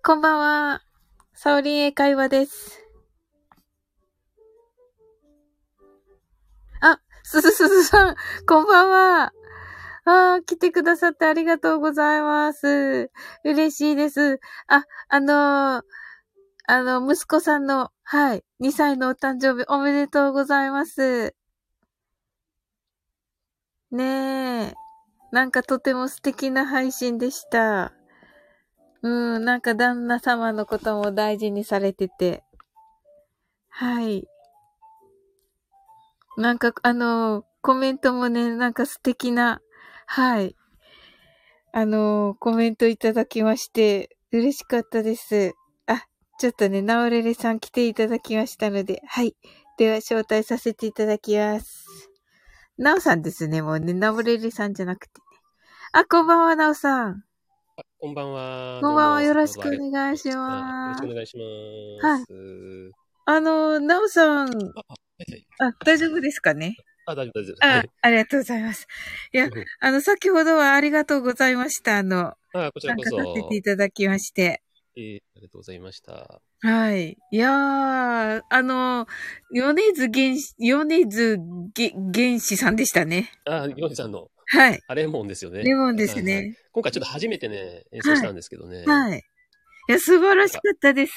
こんばんは。サオリン英会話です。あ、すずさん、こんばんは。来てくださってありがとうございます。嬉しいです。息子さんの、はい、2歳のお誕生日おめでとうございます。ねえ。なんかとても素敵な配信でした。なんか旦那様のことも大事にされてて。はい。なんかコメントもね、なんか素敵な、はい。コメントいただきまして、嬉しかったです。あ、ちょっとね、ナオレレさん来ていただきましたので、はい。では、招待させていただきます。ナオさんですね、もうね、ナオレレさんじゃなくてね。あ、こんばんは、ナオさん。 こんばんは。 こんばんは、 どうも、 よろしくお先ほどありがとう願いしございました。よろします。 くお願いしまはい。 す。 ナオさん、 はいはい。 大丈夫ですかね？ 大丈夫、大丈夫。はい。 ありがとうございます。いや、先ほどはありがとうございました。 こちら参加させてこそ、 いただきまして。 ありがとうございました。 はい。いやー、米津玄師さんでしたね。 ヨネさんの、 はい。 レモンですよね。 レモンではいはい。 すね。 今回ちょっと初めてね、演奏しはい。 たんですけどね。 はい。いや、素晴らなんか、 しかったです。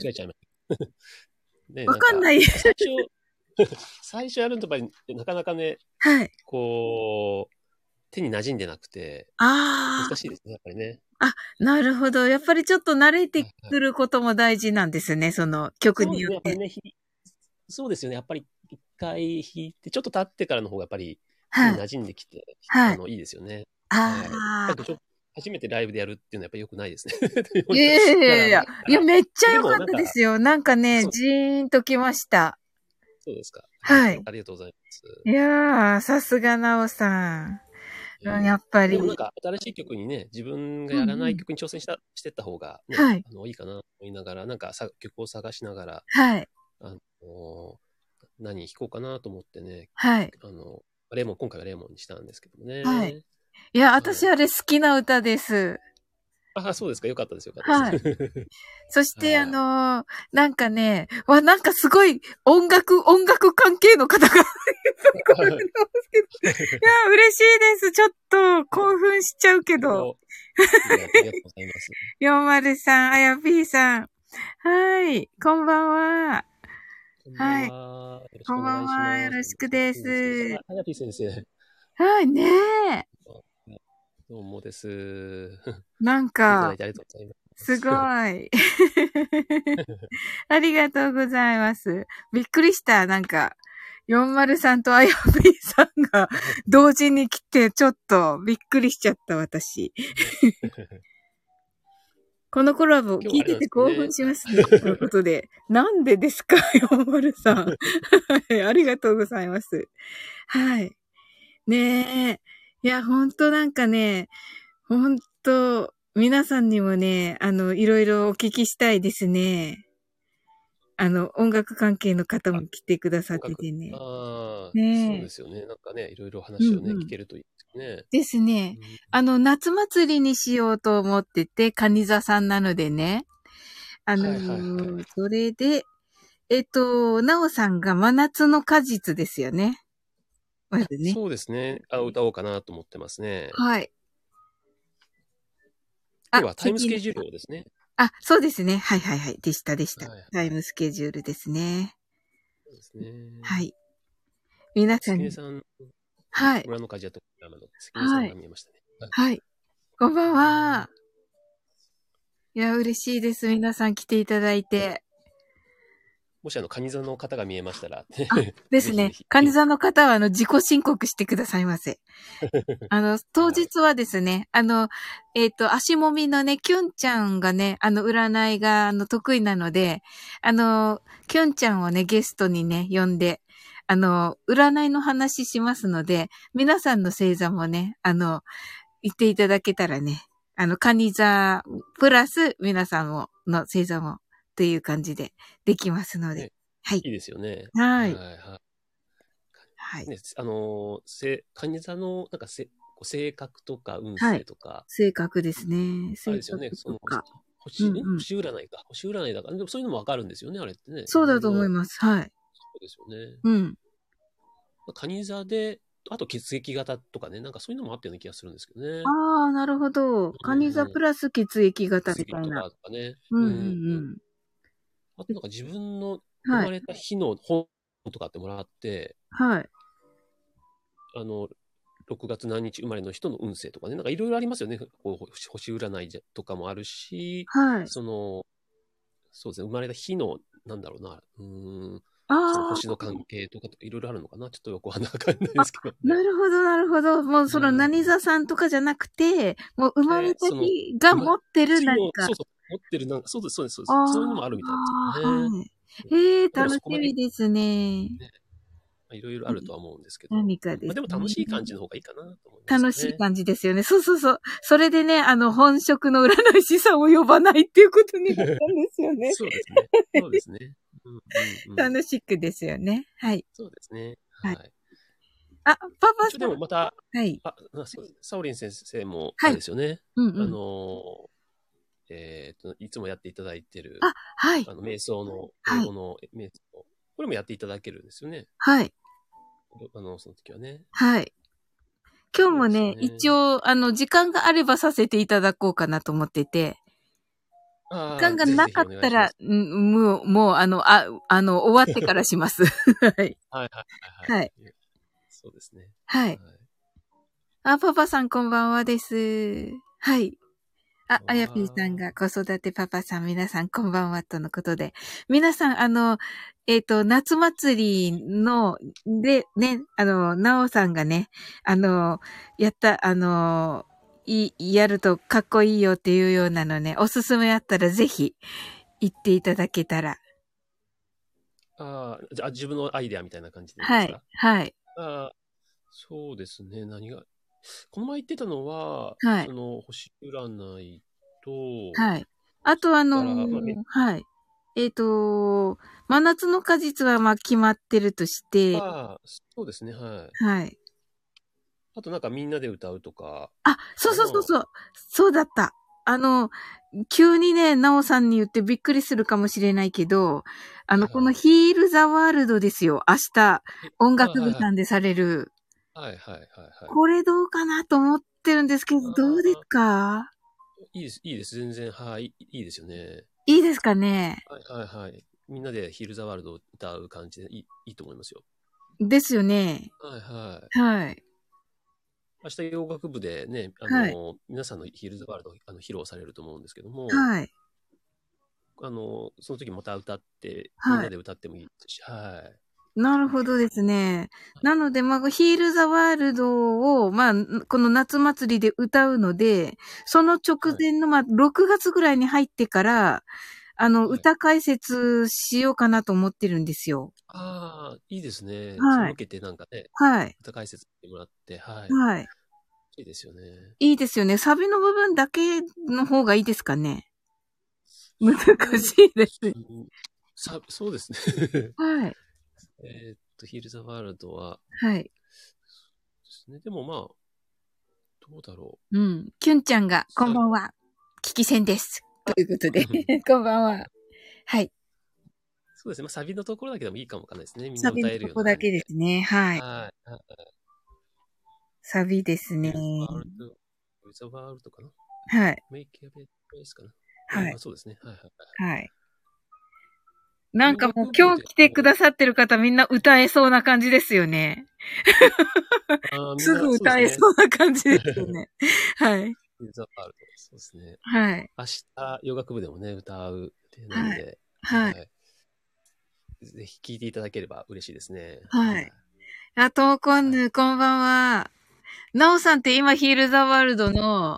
間違えちゃいました。ね、 わかんない。 最初やるとやっぱり、なかなかね、 はい。 こう、手に馴染んでなくて、 あー。 難しいですね、やっぱりね。 なるほど。やっぱりちょっと慣れてはいはい。 くることも大事なんですね。その曲そうですね、やっぱりによって。 ね、そうですよね。やっぱり一回弾いて、ちょっと経ってからの方がやっぱり手はい。 に馴染んできて、 はい。 いいですよね。はい。やっぱあー。 り初めてライブでやるっていうのはやっぱり良くないですね。 いやいやいだから、 やいや。いや、めっちゃ良かっでもなんか、 たですよ。なんかね、 そう、 ジーンときました。 そうですか。 はい。 ありがとうございます。 いやー、さすがなおさん。やっぱり。 でもなんか新しい曲にね、自分がうんうやらないん。 曲に挑戦してった方がね、 はい。 いいかなと思いながら、なんか曲を探しながら、 はい。 あの、何弾こうかなと思ってね、 はい。 あの、今回はレモンにしたんですけどもはい。 ね。 いや、 はい。 私あれ好きな歌です。 そうですか。よかったです、よかったです。 はい。そしてはい。 なんかね、なんかすごい音楽関係の方がいっぱい来られてますけど。いや、嬉しいです。ちょっと興奮しちゃうけど。 ありがとうございます。 403、あやぴーさん。はい。こんばんは。 こんばんはい。 は。よろしこくお願いしんばんは。よます。 ろしくで先生。 す。 はやぴ先生。 はい、ねえ。 どうもです。 なん来ていただか、 いてありがとうございますごす。 い。ありがとうございます。びっくりした。なんか、403とあやぴーさんが同時に来て、ちょっとびっくりしちゃった、私。このコラボ聞いて今日はあれなんでて興奮すよね。 しますね。ということで。なんでですか？ 403。はい。ありがとうございます。はい。ねえ。いや、ほんとなんかね、ほんと、皆さんにもね、いろいろお聞きしたいですね。音楽関係の方あ、 も来てくださっ音楽。 ててね。 そうねえ。 ですよね。なんかね、いろいろ話をね、 うんうん。 聞けるといいですね。 ですね。 うん、 夏祭りにしようと思ってて、カニ座さんなのでね。 はいはいはい。 それで、なおさんが真夏の果実ですよね。まずね。 そうですね。歌おうかなと思ってますね。 はい。 今日はタイムスケジュー聞きました。 ルをですね。 そうですね。はいはいはい。でした、でした。 はいはい。 タイムスケジュールですね。 そうですね。 はい。皆さんに。 関根さん、 はい。 村の鍛冶屋と山の関根さはい。 んが見えましたね。はい。 はい。こんばんは。いや、嬉しいです。皆さん来ていただいて。 もしカニ座の方が見えましたら、 ですね。 ぜひぜひ。 患者さんの方は、自己申告してくださいませ。当はい。 日はですね、足もみのね、キュンちゃんがね、占いが、得意なので、キュンちゃんをね、ゲストにね、呼んで、占いの話しますので、皆さんの星座もね、言っていただけたらね、カニ座、プラス、皆さんも、の星座も、という感じで、できますので。 ね、 はい。 いいですよね。 はい。 はいはい。 はい。 ね、カニ座の、性格とか運はい。 勢とか、 性格ですね。性あれですよね、 格とか。 星占いか。星占いだから、でもそういうのもわかるんですよね、あれってね。 そうだと思います。はい。 そうですよね。 うん。 蟹座で、あと血液型とかね、なんかそういうのもあったような気がするんですけどね。 ああ、なるほど。カニ座プラス血液型血液とみたいな。 かとかね。 うんうんあとなんか自分のうん。はい。 生まれた日の本とかってもらって、 はい。 6月何日生まれの人の運勢とかね、なんかいろいろありますよね。こう星占いとかもあるし、 はい。 そうですね、生まれた日の、なんだろうな、そのあ星の関係とかいろいろあるのかな。ちょっとよくわかんないであ、 すけどね。 なるほど、なるほど。もうそのうん何座さんとかじゃなくて、もう生まれたその、 日が持ってる日の、 何か。 そうそう、持ってる、なんか、そうです、そうです、そうです。そういうのあもあるみたいですあ、 よね。 はい。ええー、 でも楽しそこまで、 みですね。 ね、いろいろあるとは思うんですけど、 何かですでも楽しい感じね。 の方がいいかなと思います楽しいよね。 感じですよね。そうそうそう。それでね、本職の占い師さんを呼ばないっていうことになったんですよね。 そうですね。そうですね。うんうんうん。 楽しくですよね。はい。 そうですね。 はい。 はい。 あ、パパ一応でさん。 もまた、 はい。 サオリン先生も、あはい。 れですよね。 うんうん。 いつもやっていただいてる、 あ、はい。 瞑想の、英はい。 語の瞑想、これもやっていただけるんですよね。 はい。 その時はね。 はい。今日そうですもね、一ね。 応、時間があればさせていただこうかなと思ってて、時ああ、 間がなかぜひぜひおったら、 願いします。 もう、終わってからします。はい。 はいはいはいはい。 はい。 そうですね。 はい。 はい。 あ、パパさんこんばんはです。はい。あ、あやぴーさんあが子育てパパさん皆さんこんばんはとのことで。皆さん、夏祭りの、で、ね、なおさんがね、やった、やるとかっこいいよっていうようなのね、おすすめあったらぜひ言っていただけたら。 じゃあ自分のアイデアみたいな感じでではい、 すか？ はい、 そうですね。この前言ってたのは、 はい、 その星占いと、 はい。あとから、 はい。真夏の果実はまあ決まってるとして、 そうですね。はい。 はい。 あとなんかみんなで歌うとかあ、そうかな。 そうそうそう。そうだった。急にね、なおさんに言ってびっくりするかもしれないけど、このはいはい。 ヒールザワールドですよ。明日、音楽部はいはい。 さんでされる。 はいはいはいはい。 これどうかなと思ってるんですけど、どうですあか？ いいです、いいです。全然、はい、いいですよね。 いいですかね？ はいはいはい。みんなでヒールザワールドを歌う感じでいいと思いますよ。 ですよね。 はいはい。 はい。 明日洋楽部でね、 はい。 皆さんのヒールズワールド披露されると思うんですけども、 はい。 その時また歌って、みんはい。 なで歌ってもいいですし、はい。 なるほどですね。なので、まあ、ヒールザワールドを、まあ、この夏祭りで歌うので、その直はい。 前の、まあ、6月ぐらいに入ってから、 はい。 歌解説しようかなと思ってるんですよ。 いいですね。それはい。 向けてなんかね、 はい。 歌解説してもらって、はい。 はい。 いいですよね。 いいですよね。サビの部分だけの方がいいですかね。難そうしいです。 うんそうですね。 はい。 ヒールザワールドは、 はい。 ですね。でもまあ、どうだろうん。キュンちゃんが、 う。 こんばんは。聞き戦です。ということで、こんばんは。はい。 そうですね。まあ、サビのところだけでもいいかもわかんないですね。みんサな歌えるビのとこだような感じで。 けですね。はい。 はい。 サビですね。 ヒルズワールド、ヒルズワールドかな。 はい。 メイキャベプレイスかな。 はい。 そうですね。はいはいはい。 はい。なん洋かもう楽部で今日来てくださってる方みんな歌えそうな感じですよね。 みんすぐなそうですね。 歌えそうな感じですよね。はい。 ヒルズワールド、そうですね。 はい。 明日、洋楽部でもね、歌う予定なんはい。 で、 はい。 はい。ぜひ聴いていただければ嬉しいですね。 はい。あ、ともこんはい。 ぬ、こんばんは。なおさんって今ヒールザワールドの、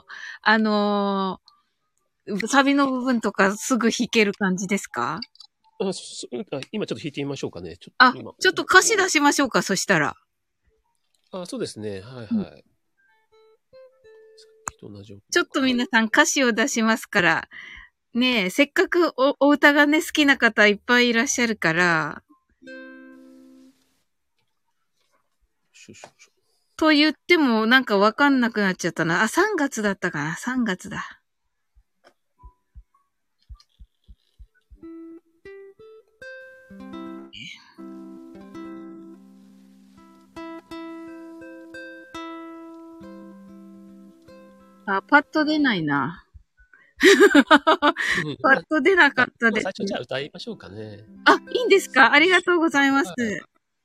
サビの部分とかすぐ弾ける感じですか？ 今ちょっと弾いてみましょうかね。 あ、 今。 ちょっと歌詞出しましょうか、そしたら。 そうですね。はいうん、 はい。さっきと同じ音ちょっとかな。 皆さん歌詞を出しますから。ねえ、せっかくお歌がね、好きな方いっぱいいらっしゃるから、 しょしょしょ。 と言ってもなんかわかんなくなっちゃったな。あ、3月だったかな？ 3 月だ。 あ、パッと出ないな。 うん、 パッと出なかったです。 最初じゃあ歌いましょうかね。 あ、いいんですか？ありがとうございます。 はい。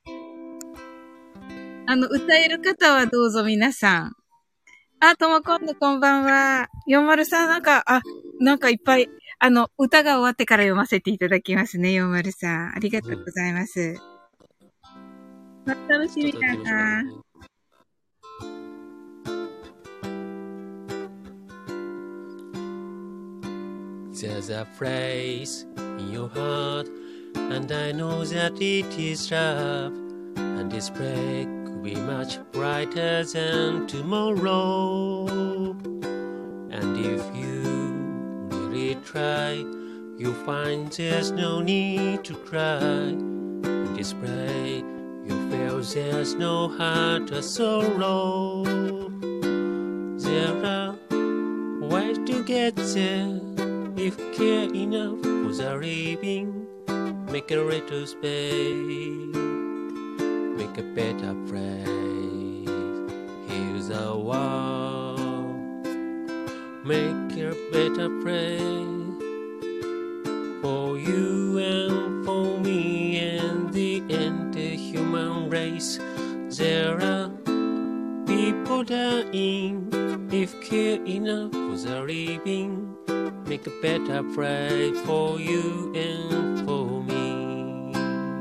歌える方はどうぞ皆さん。あ、ともこんぬこんばんは。403なんかいっぱい、歌が終わってから読ませていただきますね、403。ありがとうございます。楽しみだな。 There's a place in your heart, and I know that it is love, and this break could be much brighter than tomorrow. And if you really try, you'll find there's no need to cry. In this break, you feel there's no heart or sorrow. There are ways to get there.If care enough for the living, make a little space, make a better place. Here's a wall, make a better place for you and for me and the entire human race. There are people dying, if care enough for the living.Make a better place for you and for me.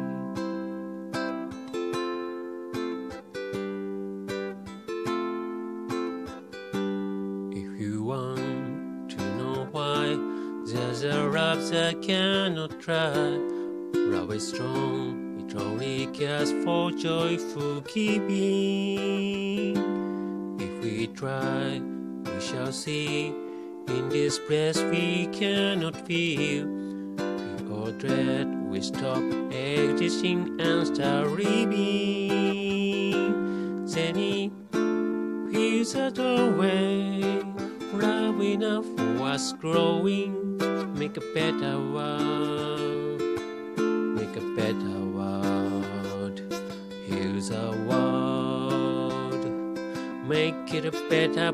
If you want to know why, there's a love that cannot try. Love is strong, it only cares for joyful giving. If we try, we shall see.In this place we cannot feel. We all dread, we stop existing and start living. Then it feels a doorway, love enough for us growing. Make a better world, make a better world. Here's a world, make it a better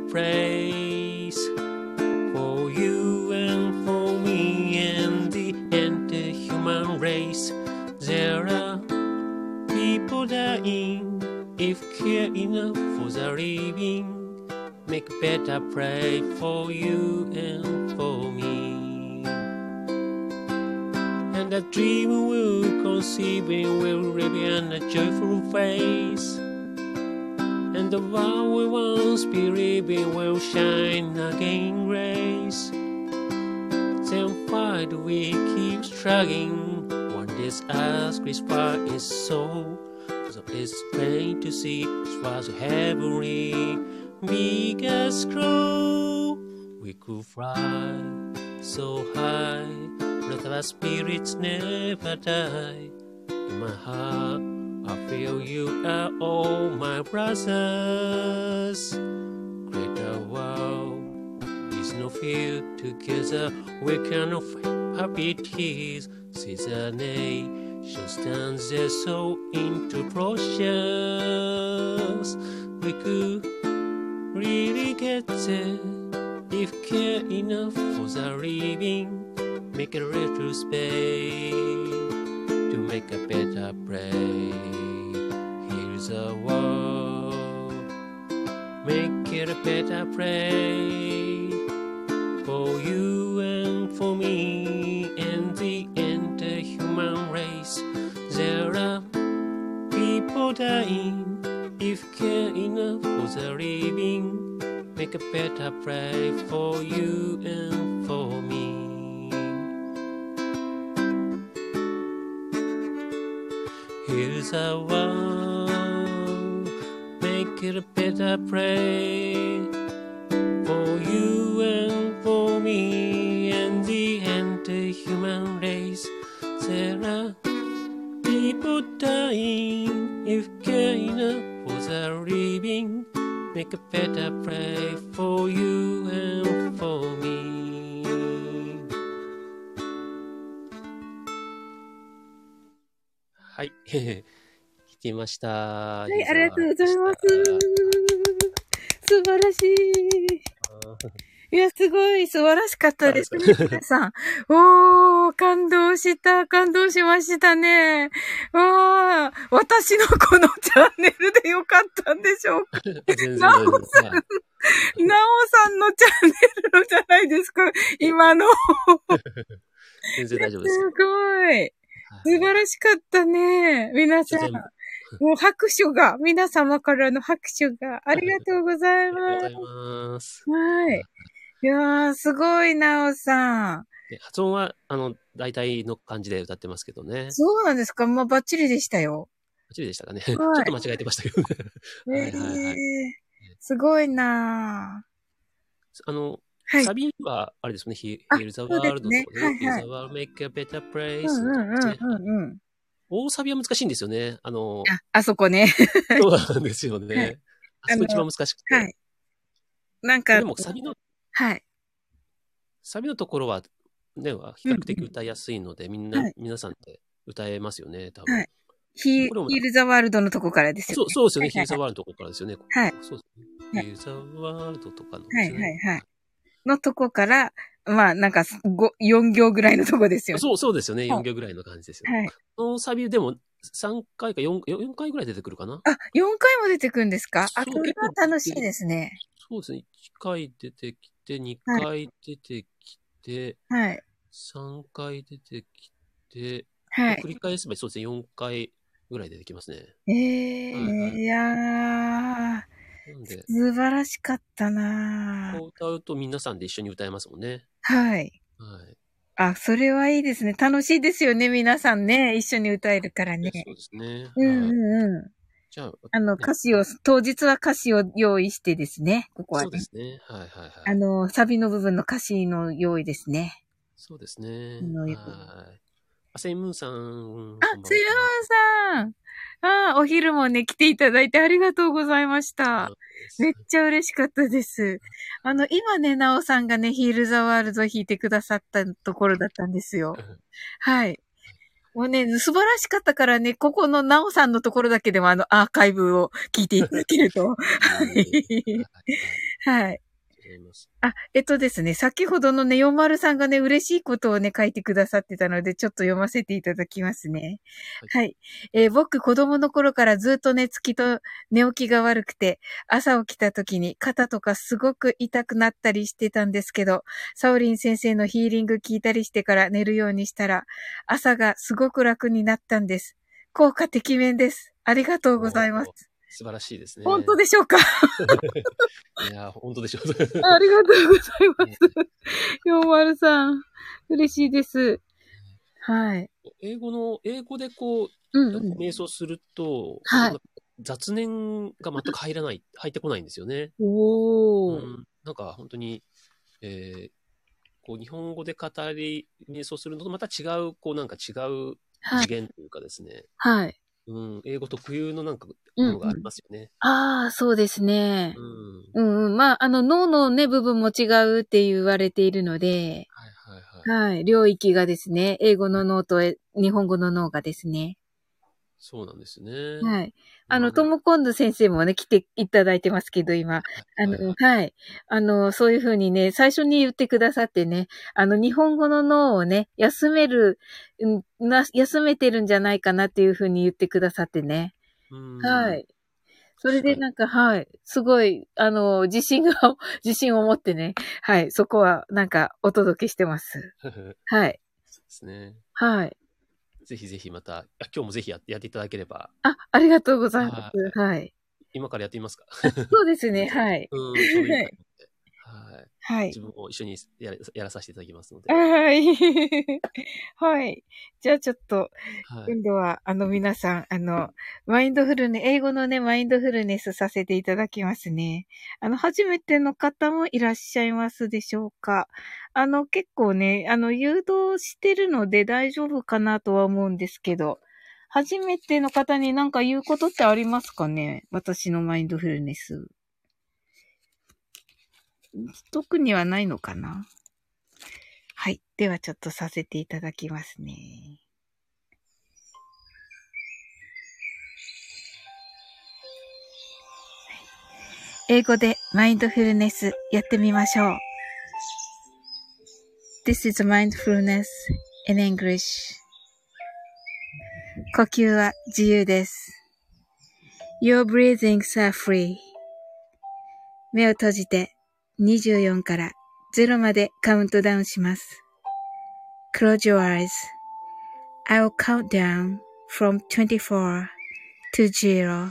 place.For you and for me and the entire human race. There are people dying, if care enough for the living. Make a better place for you and for me. And a dream will conceive and will reveal a joyful face.And the world we once believed in will shine again grace. Then why do we keep struggling when this earth far is so it's plain to see it was heavenly big as crow. We could fly so high, let our spirits never die. In my heart,I feel you are all my brothers. Greater world is no fear. Together we can happy tears. See the nation stands there so into process. We could really get there if care enough for the living. Make a little space.To make a better place. Here's a world, make it a better place for you and for me and the entire human race. There are people dying, if care enough for the living. Make a better place for you and for me.Here's a world, make it a better place for you and for me and the entire human race. There are people dying, if care enough for the living. Make a better place for you and for me.はい。聞きました。 はい、ありがとうございます。素晴らしい。 いや、すごい素晴らしかったですね、皆さん。感動しましたね。私のこのチャンネルでよかったんでしょうか。 全然大丈夫です。はい。 なおさんのチャンネルのじゃないですか、今の。 全然大丈夫です。 すごい。素晴らしかったね。皆さん。もう拍手が、皆様からの拍手がありがとうございます。ありがとうございます。はい。いやー、すごい、なおさん。 発音は、大体の感じで歌ってますけどね。 そうなんですか？まあ、バッチリでしたよ。 バッチリでしたかね。はい、ちょっと間違えてましたけどね。はいはいはい。 すごいなぁ。はい、サビは、あれですね、Heal the World とかね、Heal the World, Make a Better Place ですね。大サビは難しいんですよね。 あそこね。 そうなんですよね。はい、あそこ一番難しくて。はい。 なんか、 でもサビの、 はい。 サビのところは、ね、比較的歌いやすいので、皆さんで歌えますよね、多分。はい。 ヒールザワールドのとこからですよね。 そうですよね。ヒールザワールドのとこからですよね。 はい。 そうですね。ヒールザワールドとかのですね。はい。のとこから、まあ、なんか、4行ぐらいのとこですよね。 そうですよね。4行ぐらいの感じですよね。はい。このサビでも3回か4回ぐらい出てくるかな。 4回も出てくるんですか？それは楽しいですね。 そうですね。1回出てきて、2回出てきて、はい。3回出てきて、はい。繰り返せばそうですね。4回ぐらい出てきますね。 いやー。素晴らしかったなぁ。 歌うと皆さんで一緒に歌えますもんね。 はい。はい。それはいいですね。楽しいですよね、皆さんね。一緒に歌えるからね。 そうですね。 じゃあ、歌詞を、当日は歌詞を用意してですね、ここはね。 そうですね。はい。 サビの部分の歌詞の用意ですね。 そうですね。はい。セイムーンさん。セイムーンさん。お昼もね、来ていただいてありがとうございました。めっちゃ嬉しかったです。今ね、なおさんがね、ヒールザワールド弾いてくださったところだったんですよ。はい。もうね、素晴らしかったからね、ここのなおさんのところだけでもアーカイブを聞いていただけると。はい。はい。ですね、先ほどのね、40さんがね、嬉しいことをね、書いてくださってたので、ちょっと読ませていただきますね。はい。僕、子供の頃からずっと寝つきと寝起きが悪くて、朝起きた時に肩とかすごく痛くなったりしてたんですけど、サオリン先生のヒーリング聞いたりしてから寝るようにしたら、朝がすごく楽になったんです。効果てきめんです。ありがとうございます。 素晴らしいですね。 本当でしょうか？ いや、本当でしょう。 ありがとうございます。40さん。嬉しいです。はい。 英語でこう、瞑想すると、雑念が全く入ってこないんですよね。なんか本当に、こう日本語で瞑想するのとまた違う、なんか違う次元というかですね。はい。英語特有のなんかものがありますよね。 そうですね。まあ、脳のね、部分も違うって言われているので、はい。領域がですね、英語の脳と日本語の脳がですね。 そうなんですね。 はい。トムコンド先生もね、来ていただいてますけど、今。はい。そういうふうにね、最初に言ってくださってね、日本語の脳をね、休めてるんじゃないかなっていうふうに言ってくださってね。はい。それでなんか、はい。すごい、自信を持ってね。はい。そこは、なんか、お届けしてます。はい。 そうですね。 はい。 ぜひぜひまた、今日もぜひやっていただければ。 ありがとうございます。はい。 今からやってみますか？ そうですね。はい。 ちょうどいいかと思って。はい。自分も一緒にやらさせていただきますので。 はい。はい。じゃあちょっと、今度は、皆さん、英語のね、マインドフルネスさせていただきますね。初めての方もいらっしゃいますでしょうか？結構ね、誘導してるので大丈夫かなとは思うんですけど、初めての方に何か言うことってありますかね？私のマインドフルネス。特にはないのかな？はい。ではちょっとさせていただきますね。 英語でマインドフルネスやってみましょう。This is mindfulness in English. 呼吸は自由です。Your breathings are free. 目を閉じて24から0までカウントダウンします。Close your eyes. I'll count down from 24 to 0.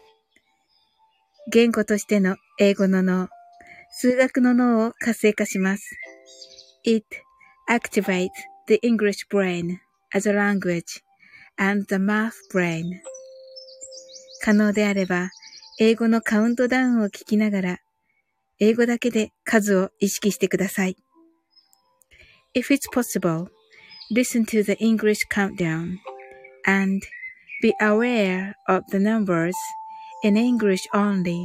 言語としての英語の脳、数学の脳を活性化します。It activates the English brain as a language and the math brain. 可能であれば、英語のカウントダウンを聞きながら、英語だけで数を意識してください。If it's possible, listen to the English countdown and be aware of the numbers in English only.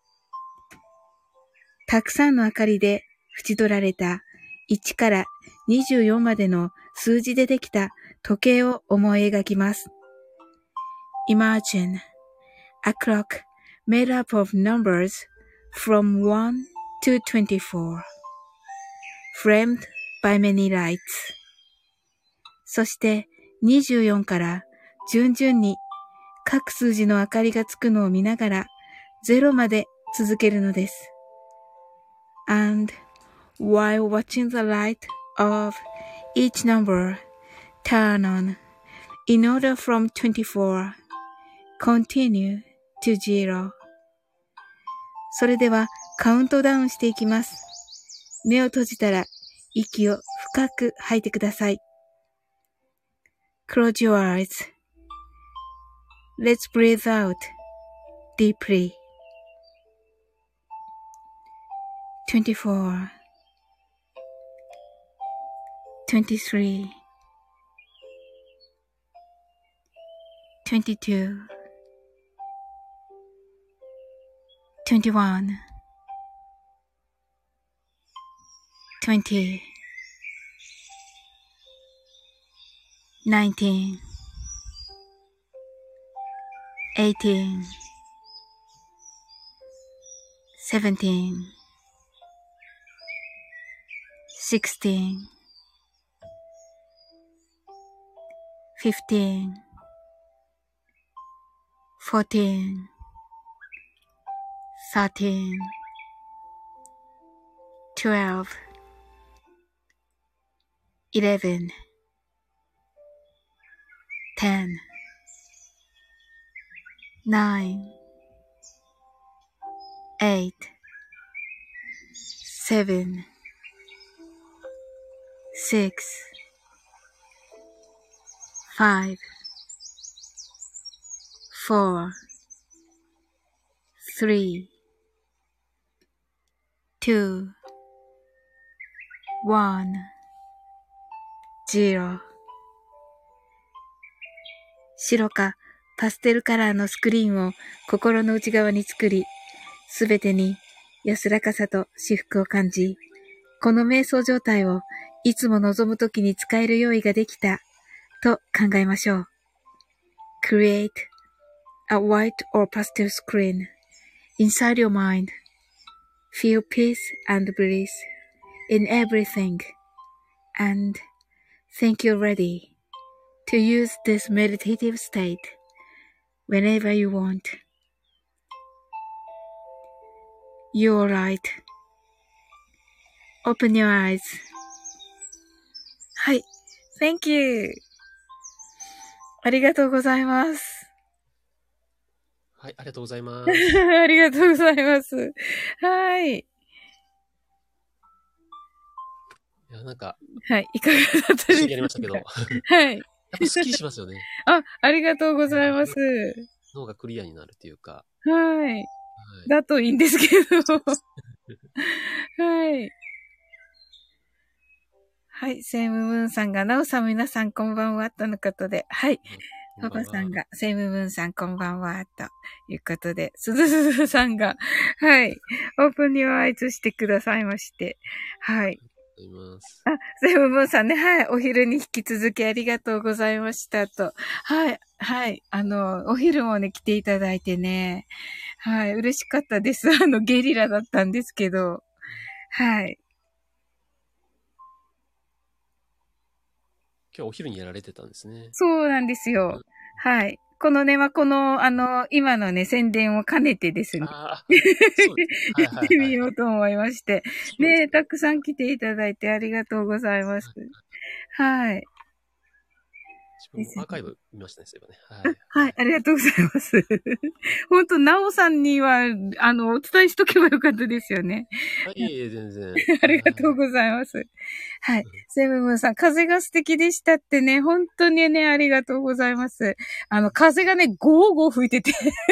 たくさんの明かりで縁取られた1から24までの数字でできた時計を思い描きます。Imagine a clock made up of numbers from 1 to 24, framed by many lights. そして24から順々に各数字の明かりがつくのを見ながら0まで続けるのです。And while watching the light of each number turn on in order from 24, continue to 0. それではカウントダウンしていきます。目を閉じたら息を深く吐いてください。Close your eyes.Let's breathe out deeply. 24, 23, 22, 21, 20, 19, 18, 17, 16, 15, 14, 13, 12, 11, 10, 9, 8, 7, 6, 5, 4, 3, 2, 1, 0. 白かパステルカラーのスクリーンを心の内側に作り、すべてに安らかさと至福を感じ、この瞑想状態をいつも望むときに使える用意ができたと考えましょう。Create a white or pastel screen inside your mind. Feel peace and bliss in everything and think you're ready to use this meditative state whenever you want. You're right. Open your eyes. はい。Thank you. ありがとうございます。 はい、ありがとうございます。 ありがとうございます。はい。いや、なんか、 はい。いかがだったですか？ 一緒にやりましたけど。 はい。 やっぱスッキリしますよね。 ありがとうございます。 脳がクリアになるっていうか。 はい。 はい、 だといいんですけど。はい。はい。セイムムーンさんが、ナオさん皆さんこんばんはとのことで。はい。パパさんが、セイムムーンさんこんばんはということで、すずすずさんが、はい。オープンにアイズしてくださいまして。はい。 ございます。 あ、セブブンさんね、はい。お昼に引き続きありがとうございましたと。はい。はい。お昼もね、来ていただいてね。はい。嬉しかったです。ゲリラだったんですけど。はい。 今日お昼にやられてたんですね。 そうなんですよ。はい。このね、今のね、宣伝を兼ねてですね、 ああ、そうですね。はいやってみはいはいはい。 ようと思いまして。ね、 そうですね。 たくさん来ていただいてありがとうございます。はい。 自分ですね。 もアーカイブ見ましたね、そういえばね。はい。 はい、ありがとうございます。本当なおさんには、お伝えしとけばよかったですよね。 あ、いえいえ、全然。 あはい。 りがとうございます。はい。セブンさん、風が素敵でしたってね、本当にね、ありがとうございます。風がね、ゴーゴー吹いてて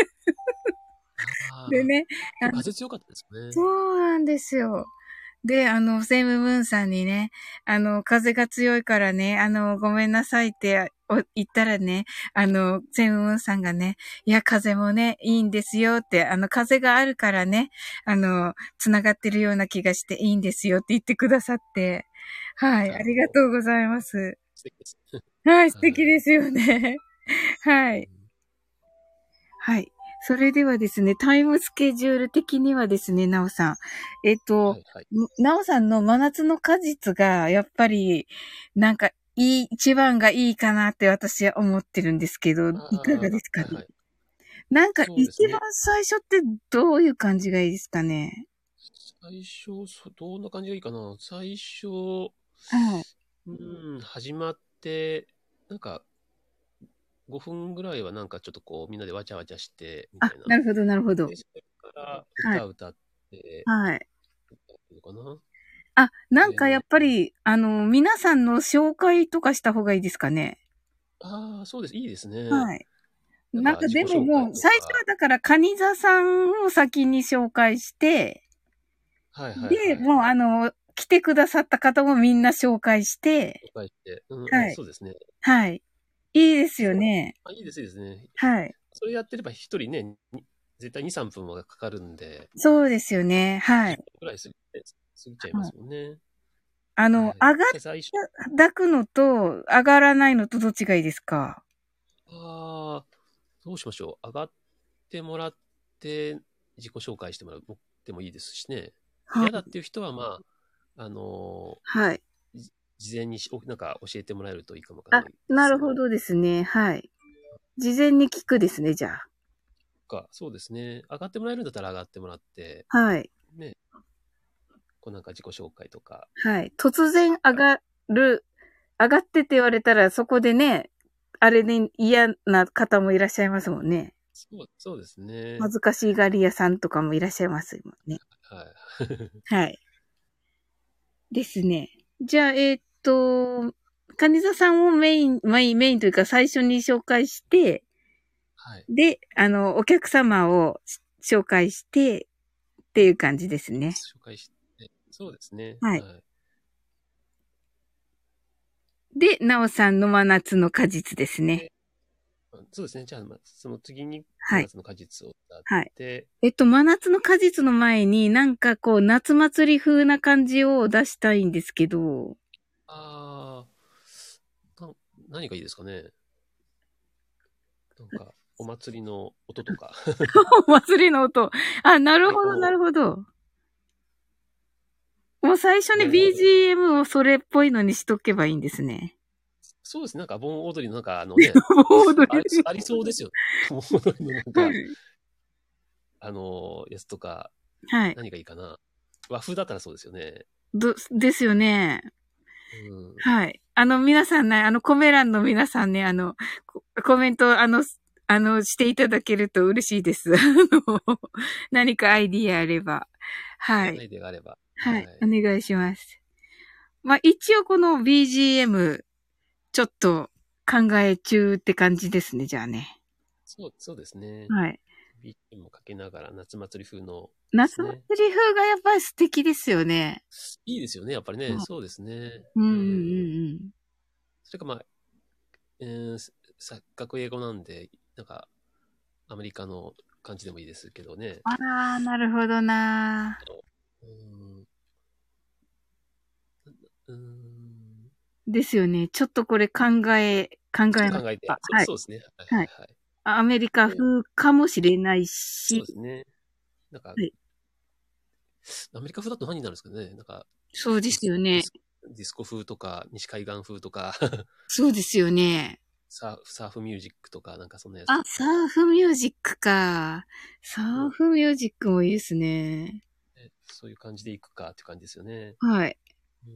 ああ、 でね、 今日風強かったですね。 そうなんですよ。で、セムムーンさんにね、風が強いからね、ごめんなさいって言ったらね、セムムーンさんがね、いや、風もね、いいんですよって、風があるからね、つながってるような気がしていいんですよって言ってくださって、はい、ありがなるほど。 とうございます。 素敵です。 はい、素はい。 敵ですよね。はい。 うん、 はい。それではですね、タイムスケジュール的にはですね、なおさん。 はいはい。 なおさんの真夏の果実が、やっぱり、なんか、一番がいいかなって私は思ってるんですけど、 あいかがであ、 すかね。 はいはい。 なんか、一そうですね。 番最初ってどういう感じがいいですかね。 最初、どんな感じがいいかな。最初、 はい。 始まって、なんか、5分ぐらいはなんかちょっとこう、みんなでわちゃわちゃして、みたあ、 いな。 なるほど、なるほど。 で、それからはい。 歌って、 はい。 のかな。 あ、なんかやっで、 ぱり、皆さんの紹介とかした方がいいですかね。 ああ、そうです。いいですね。 はい。 なんか自己なんかでも紹介もう、最初はとか。 だからカニ座さんを先に紹介して、 はいはいで、 はいはい。 もう来てくださった方もみんな紹介して、 紹介して。あ、 はい。 そうですね。 はい。いいですよそう。 ね。 いいです、いいですね。 はい。 それやってれば一人ね、絶対2、3分はかかるんで、 そうですよね。は 10 い。 分くらい過ぎちゃいまはい。 すもんね。はい。 上がっじゃあ最初、 抱くのと、上がらないのとどっちがいいですか？ ああ、どうしましょう。上がってもらって、自己紹介してもらってもいいですしね。 はい。 嫌だっていう人は、まあ、 はい。 事前になんか教えてもらえるといいかもわかんあ、 ないですね。 なるほどですね。はい。事前に聞くですね、じゃあ。 そうですね。上がってもらえるんだったら上がってもらって、 はい。 ね、こうなんか自己紹介とか。 はい。突然上がってって言われたら、そこでね、あれで嫌な方もいらっしゃいますもんね。 そうですね。 恥ずかしがり屋さんとかもいらっしゃいますもんね。 はい。 はい。ですね。じゃあ、カニ座さんをメインというか最初に紹介して、 はい。 で、お客様を紹介してっていう感じですね。 紹介して、そうですね。 はい。 はい。 で、なおさんの真夏の果実ですね。 で、そうですね。じゃあ、その次にはい。 真夏の果実を歌っはい。 て、 真夏の果実の前になんかこう、夏祭り風な感じを出したいんですけど、 ああ、何がいいですかね。なんか、お祭りの音とか。 お祭りの音。あ、なるほど、な太鼓の、 るほど。もう最初に盆踊り。 BGM をそれっぽいのにしとけばいいんですね。 そうですね。なんか盆踊りのなんかね、 盆踊り。 ありそうですよ。盆踊りのなんか、 はい。 やつとか、 はい。 何がいいかな。和風だったらそうですよね。 ですよね。 うん。 はい。皆さんね、コメ欄の皆さんね、コメント、していただけると嬉しいです。何かアイディアあれば。はい。 アイデアがあれば。 はい。 はい。 お願いします。まあ、一応この BGM、ちょっと考え中って感じですね、じゃあね。 そうですね。 はい。 BGM もかけながら夏祭り風ので夏祭すね。 り風がやっぱり素敵ですよね。 いいですよね。やっぱりね。 はい。 そうですね。 うんうんううん。 んそれかまあ、錯覚英語なんで、なんか、アメリカの感じでもいいですけどね。 あらー、なるほどなうん。 ですよね。ちょっとこれ考えま考すえて。 か。はい。 そうですね。はいはい。 はいはい。 アメリカ風かもしれないし。 そうですね。なんか、 はい。 アメリカ風だと何になるんですかね。なんか、 そうですよね。 ディスコ風とか、西海岸風とか、 そうですよね。 サーフミュージックとか、なんかそんなやつあ、 とか、 サーフミュージックか。サーフミュージックもいいですね。 そういう感じでいくかっていう感じですよね。 はい。 うん、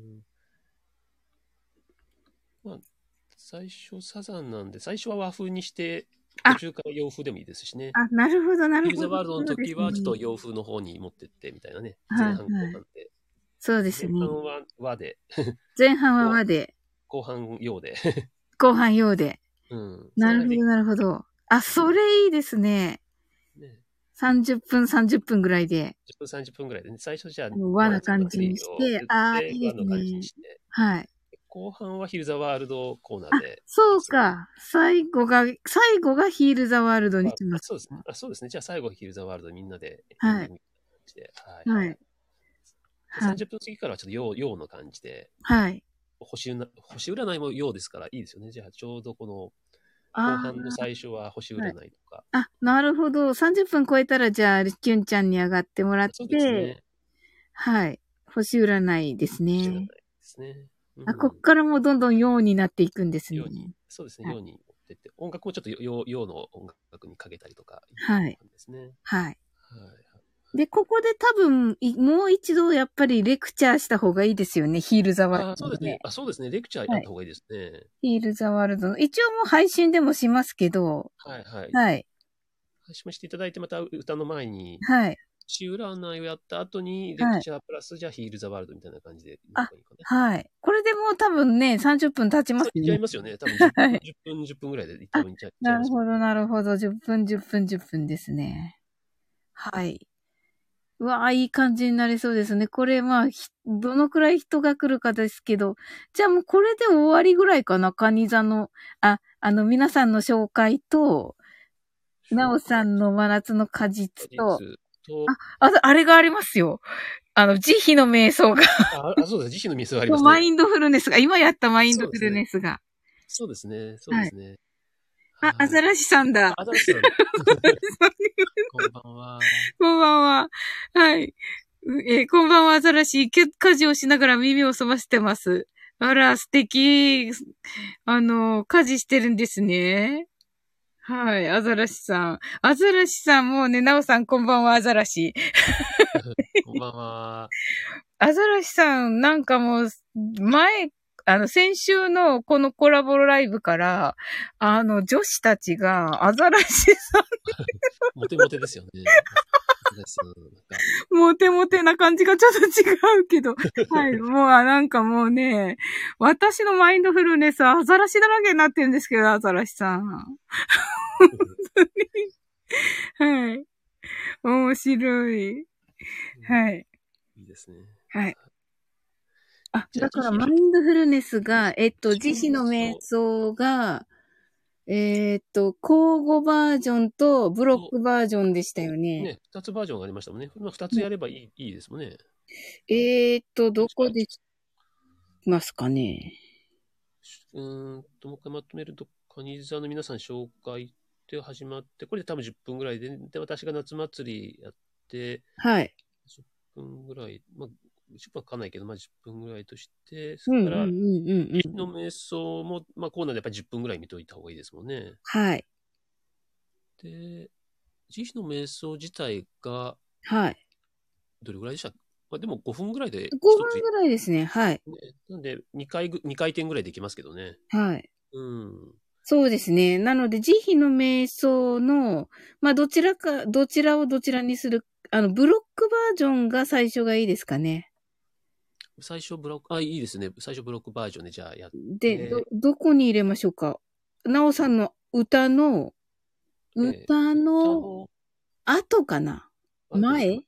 まあ、最初サザンなんで、最初は和風にして、途あ、 中から洋風でもいいですしね。 なるほど、なるほど。 ヒルザワールドのそうで時はちょっすね。 と洋風の方に持ってってみたいなね。前はい、 半後はい。 半で。 そうですね。 前半は和で、 前半は後和で、 後半洋で。 後半洋で。 うん。そんな感じで。 なるほど、なるほど。あ、それいいですね。 ね。 30分、30分ぐらいで、 10分、30分ぐらいでね。最初じゃあ、 和な夏感じに祭りして、 を言っああ、 て、 いいです和の感じにね。 して、 はい。 後半はヒルザワールドコーナーあ、 で、 そうか。最後がヒールザワールドにします。 そうです。そうですね。じゃあ最後ヒルザワールドみんなでエンはい。 ディングみたいな感じで。はいはい。 はい。 で、 はい。 30分過ぎからはちょっと洋の感じで、 はい。 星占いも洋ですからいいですよね。じゃあちょうどこの後あ半の最初は星あ、はい。 占いとか。 あ、なるほど。30分超えたら、じゃあ、キュンちゃんに上がってもらっそうですて、 ね。 はい。星占いです星占いね。 ですね。うあ、こん。 っからもうどんどん陽になっていくんですね。 そうですね。 はい。 洋に持ってって、音楽もちょっと洋の音楽にかけたりとかいうはい。 感じですね。はいはい。 はい。 で、ここで多分、もう一度やっぱりレクチャーした方がいいですよね。ヒールザワールああ、そうですね。 ドのね。 そうですね。レクチャーやはい。 った方がいいですね。 ヒールザワールドの。一応もう配信でもしますけど、 はいはい。 はい。 配信もしていただいて、また歌の前に、 はい。 星占いをやった後に、レクはい。 チャープラス、じゃあヒールザワールドみたいな感じでいいのあ、 がいいかな。 はい。これでもう多分ね、30分経ちまそう、いっちゃいすね。 ますよね。多分10分、 はい。 10分、10分ぐらいで多あ、 分いっちゃいますもんね。 なるほど、なるほど。10分、10分、10分ですね。はい。うわあ、いい感じになりそうですね。これ、まあ、どのくらい人が来るかですけど、じゃあもうこれで終わりぐらいかな、カニ座の、皆さんの紹介と、なおさ紹介、 んの真夏の果実と、 実と、 あれがありますよ。慈悲の瞑想が、 そうです。慈悲のミスはありますね。 マインドフルネスが、今やったマインドフルそうですね。 ネスが。 そうですね。そうではい。 すね。 アはい。 ザラシさんだ。 アザラシさん。こんばんは。 こんばんは。はい。こんばんは、アザラシ。家事をしながら耳を澄ませてます。あら、素敵。家事してるんですね。はい、アザラシさん。アザラシさんもうね、ナオさんこんばんは、アザラシ。 こんばんは。 アザラシさん、なんかもう、先週のこのコラボライブから、女子たちが、アザラシさモテモテですよね。アザラシさん。 ん、モテモテな感じがちょっと違うけど、はい、もう、なんかもうね、私のマインドフルネスはアザラシだらけになってるんですけど、アザラシさん。はい。面白い。はい。 いいですね。 はい。 じゃあ、 だからマインドフルネスが、慈悲の瞑そう想が、交互バージョンとブロッと、 クバージョンでしたよね。 ね、二つバージョンがありましたもんね。まあ、二つやればいいですもんね。 どこでしますかね。 もう一回まとめると、カニ座の皆さん紹介で始まって、これで多分10分ぐらいで、私が夏祭りやって、 はい。 10分ぐらい、まあ、10分はかかんないけど、まあ10分ぐらいとして、そうんうんうんれから、 うんうん。 日の瞑想も、まあコーナーでやっぱり10分ぐらい見といた方がいいですもんね。 はい。 で、慈悲の瞑想自体が、 はい。 どれぐらいでした？まあでも5分ぐらいで一つ、 5分ぐらいですね。はい。 ね、なんで2回転ぐらいできますけどね。 はい。 うん。 そうですね。なので、慈悲の瞑想の、まあ、どちらをどちらにする、ブロックバージョンが最初がいいですかね。 最初ブロック、いいですね。最初ブロックバージョンでじゃあやっで、 て、 どこに入れましょうか。なおさんの歌の、歌の歌の後かな。 後、 前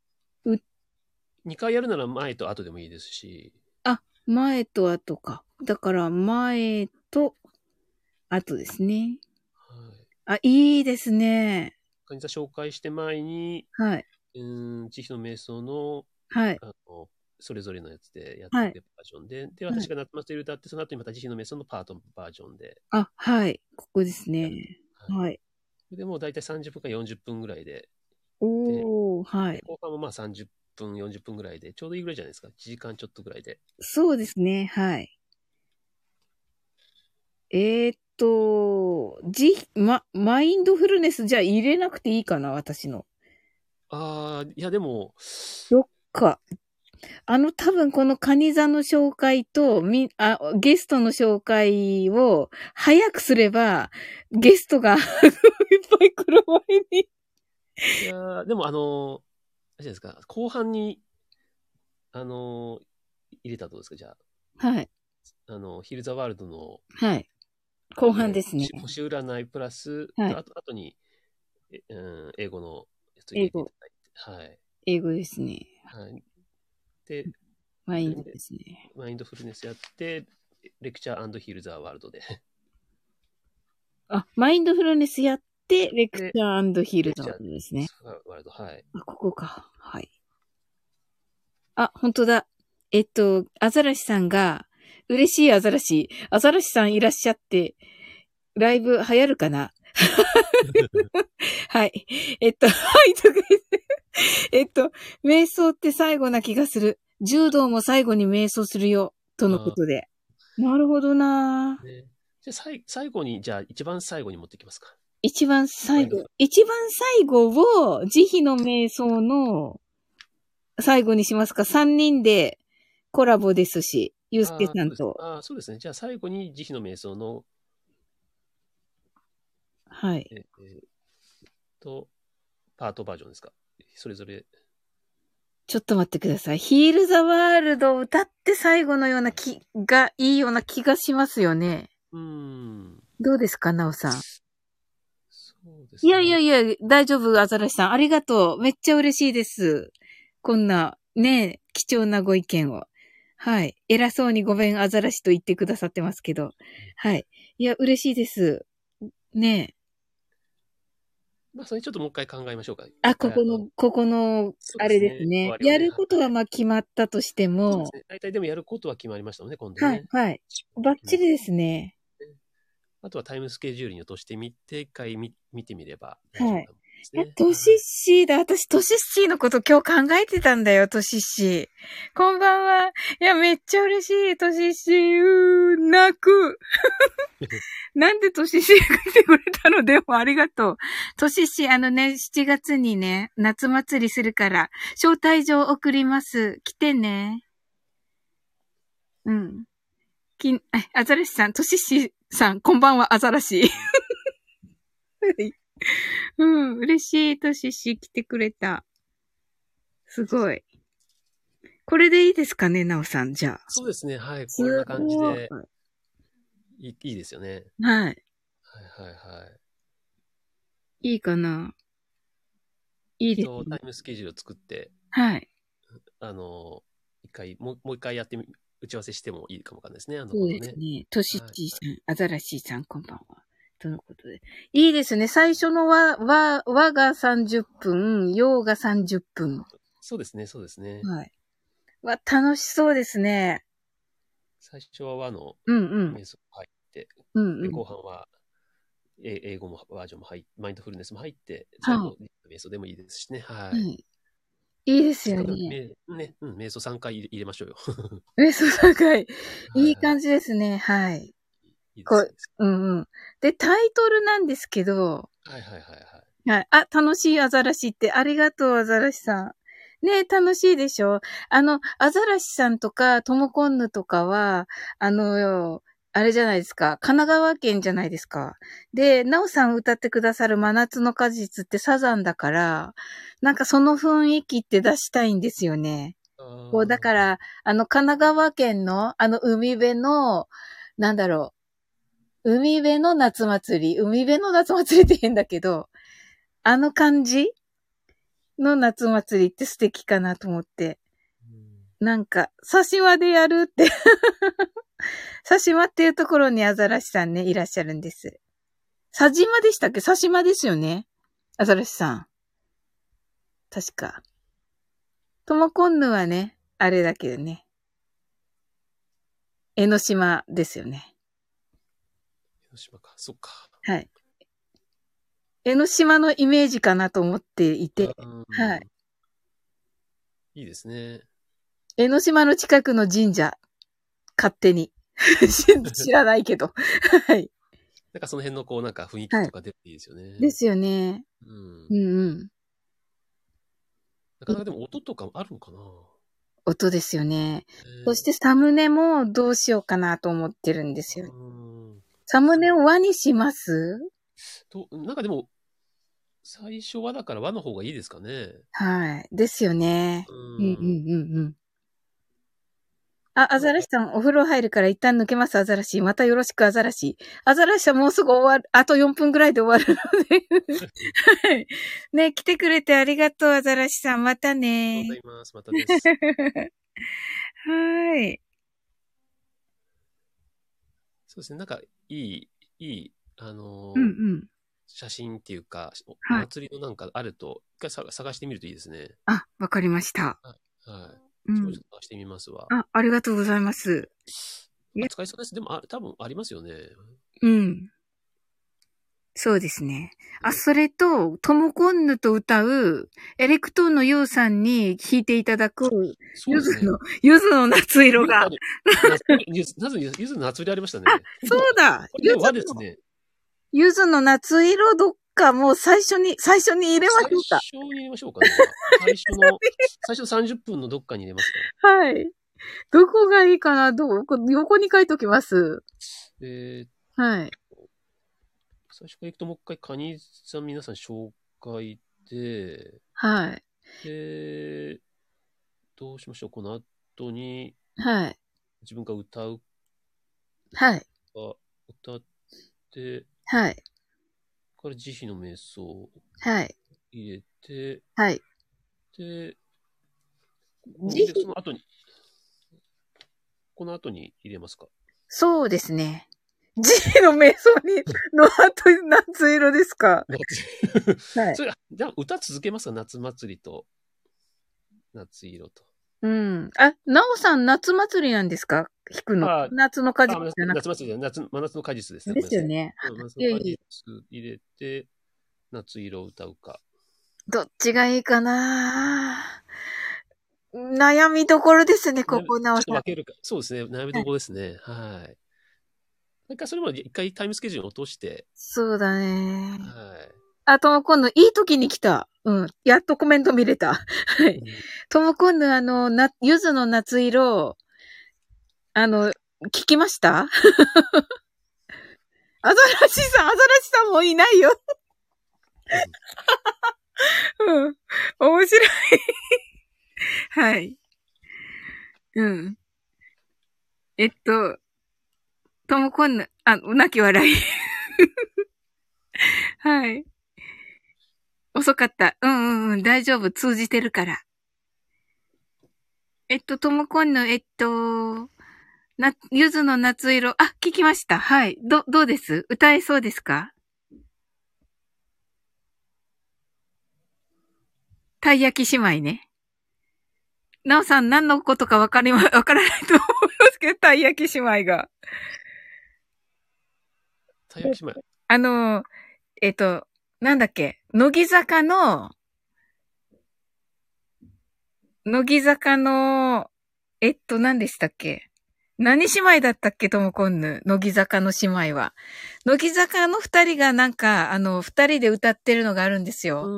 2回やるなら前と後でもいいですし、 前と後か。だから、前と後ですね。 はい。 いいですね。 カニ座紹介して前に、 はい。 慈悲の瞑想の、 はい。 それぞれのやつでやってはい。 てバージョンで、で、 はい。 私が夏祭り歌って、その後にまた慈悲の瞑想のパートバージョンであ、はい。ここですやる。 ね。 はい。 はい。 で、もう大体30分か40分ぐらいで、で、 おー、はで、 い。 後半もまあ30分、40分ぐらいで、ちょうどいいぐらいじゃないですか。1時間ちょっとぐらいで。 そうですね。はい。マインドフルネスじゃあ入れなくていいかな、私の。 ああ、いやでも、 どっか。多分このカニ座の紹介と、ゲストの紹介を早くすれば、ゲストがいっぱい来る前に。 いやでもあれじゃないですか、後半に、入れたらどうですか、じゃはい。 あ、ヒルザワールドの、 はい。後半ですね。 星占いプラス、 はい。 後に、英語のやつを入英語。 れていただいて、はい。 英語ですね。 はい。で、 マインドですね。 マインドフルネスやって、レクチャーヒルザワールドで。 あ、マインドフルネスやって、レクチで、 ャーヒルドレクチャーですね。 ワールド、はい。 あ、ここか。はい。あ、本当だ。アザラシさんが、嬉しいアザラシさんいらっしゃって、ライブ流行るかな。はい。はい、とか言って。瞑想って最後な気がする。柔道も最後に瞑想するよ。とのことで。なるほどな。 ね、じゃあ最後に、じゃあ一番最後に持ってきますか。 一番最後を、慈悲の瞑想の最後にしますか？ 3 人でコラボですし、ゆうすけさんと。 そうですね。じゃあ最後に慈悲の瞑想の、 はい。 パートバージョンですか。それぞれ。 ちょっと待ってください。ヒールザワールドを歌って最後のような気がいいような気がしますよね。どうですか、なおさん。 そうですいね。 やいやいや、大丈夫、アザラシさん。ありがとう。めっちゃ嬉しいです。こんな、ね、貴重なご意見を。はい。偉そうにごめん、アザラシと言ってくださってますけど。はい。いや、嬉しいです。ね。 まあ、それちょっともう一回考えましょうか。 あ、ここの、 そうあれですね。終ですね。 わりをね。 やることはまあ決まったとしても、 そうですね。大体でもやることは決まりましたもんね、今度はい、 ね。 はい。バッチリですね。 あとはタイムスケジュールに落としてみて、一回見てみれば大丈はい。 夫かもですいや、 ね。 トシッシーだ。私、トシッシーのこと今日考えてたんだよ、トシッシー。こんばんは。いや、めっちゃ嬉しい、トシッシー。泣く。なんでトシッシーが来てくれたの？でもありがとう。トシッシー、7月にね、夏祭りするから、招待状送ります。来てね。うん。アザラシさん、トシッシーさん、こんばんは、アザラシ。うん、嬉しい、トシッシー来てくれた。すごい。これでいいですかね、なおさん、じゃあ。 そうですね。はい。こんな感じでいいですよね。 はい。 はいはいはい。 いいかな。いいですね。 タイムスケジュールを作って、 はい。 もう一回打ち合わせしてもいいかもわかんないですね。 そうですね。トシッチーさん、アザラシーさん、こんばんは。とのことで。いいですね。最初の和が30分、洋が30分。 そうですね、そうですね。 はい。楽しそうですね。 最初は和の瞑想入って、で後半は英語もバージョンもマインドフルネスも入って、最後、瞑想でもいいですしね。はい。 いいですよね。 瞑想3回入れましょうよ。 瞑想3回。いい感じですね。はい。 いいですで、タイトルなんですけど。 はい。 はい。あ、楽しいアザラシって、ありがとう、アザラシさん。ね、楽しいでしょ？アザラシさんとか、トモコンヌとかは、あれじゃないですか。神奈川県じゃないですか。で、ナオさん歌ってくださる真夏の果実ってサザンだから、なんかその雰囲気って出したいんですよね。だから、神奈川県の、海辺の、なんだろう。海辺の夏祭りって変だけど、あの感じの夏祭りって素敵かなと思って。なんか、刺し間でやるって刺し間っていうところにアザラシさんね、いらっしゃるんです。刺し間でしたっけ？刺し間ですよね？アザラシさん。確か。ともこんぬはね、 あれだけどね。江ノ島ですよね。 江ノ島か。そっか。 はい。江ノ島のイメージかなと思っていて、はい。 いいですね。 江ノ島の近くの神社、勝手に。知らないけど。はい。 なんかその辺のこうなんか雰囲気とか出ていいですよね。 ですよね。 うん。 うんうん。 なかなかでも音とかあるのかな。 音ですよね。そしてサムネもどうしようかなと思ってるんですよ。サムネを和にします？ なんかでも、最初はだから和の方がいいですかね。 はい。ですよね。うんうんうんうん。あ、アザラシさん、お風呂入るから一旦抜けます、アザラシ。またよろしく、アザラシ。アザラシはもうすぐ終わる、あと4分ぐらいで終わるので。はい。ね、来てくれてありがとう、アザラシさん。またね。 ありがとうございます。またです。 はい。 そうですね。なんか、いい、 うんうん。 写真っていうか、おはい。 祭りのなんかあると、一回探してみるといいですね。 あ、わかりました。 はい。はい。 うん。 ちょっと探してみますわ。 あ、ありがとうございます。いや、 使いそうです。でも、多分ありますよね。 うん。そうですね。あ、それと、トムコンヌと歌う、エレクトーンのユウさんに弾いていただく、 そうですね。 ゆずの夏色が。 ゆずの夏色ありましたね。 あ、そうだ。 これ和ですね。 ゆずの夏色どっかもう最初に入れましょうか。 最初に入れましょうかね。最初30分のどっかに入れますか。はい。どこがいいかな横に書いときます。はい。 最初から行くともう一回カニさん皆さん紹介で、 はい。 どうしましょう。この後に、 はい。 自分が歌う。 はい。 歌って、 はい。 から慈悲の瞑想を入れて、 はい。 で、その後に、この後に入れますか？ そうですね。慈悲の瞑想の後に夏色ですか？ はい。それじゃあ歌続けますか？夏祭りと、夏色と。 うん。あ、なおさん夏祭りなんですか？弾くの。夏の果実じゃなくて。 夏祭りじゃ真夏の果実です。 ですよね。 真夏の果実入れて、夏色を歌うか。 どっちがいいかな？悩みどころですね、ここなおさん。 分けるか。そうですね。悩みどころですね。はい。なんかそれも一回タイムスケジュール落として。 そうだね。 はい。 あ、ともこんぬ、いい時に来た。うん。やっとコメント見れた。はい。ともこんぬ、ゆずの夏色、聞きました？アザラシさんもいないよ。うん。面白い。はい。うん。ともこんぬ、泣き笑い。はい。遅かった。うん、大丈夫。通じてるから。ともこんぬ、ゆずの夏色。あ、聞きました。はい。どうです？歌えそうですか？たい焼き姉妹ね。なおさん何のことかわからないと思いますけど、たい焼き姉妹が。 たい焼き姉妹。 なんだっけ、乃木坂の、何でしたっけ？何姉妹だったっけともこんぬ。乃木坂の姉妹は。乃木坂の二人がなんか、二人で歌ってるのがあるんですよ。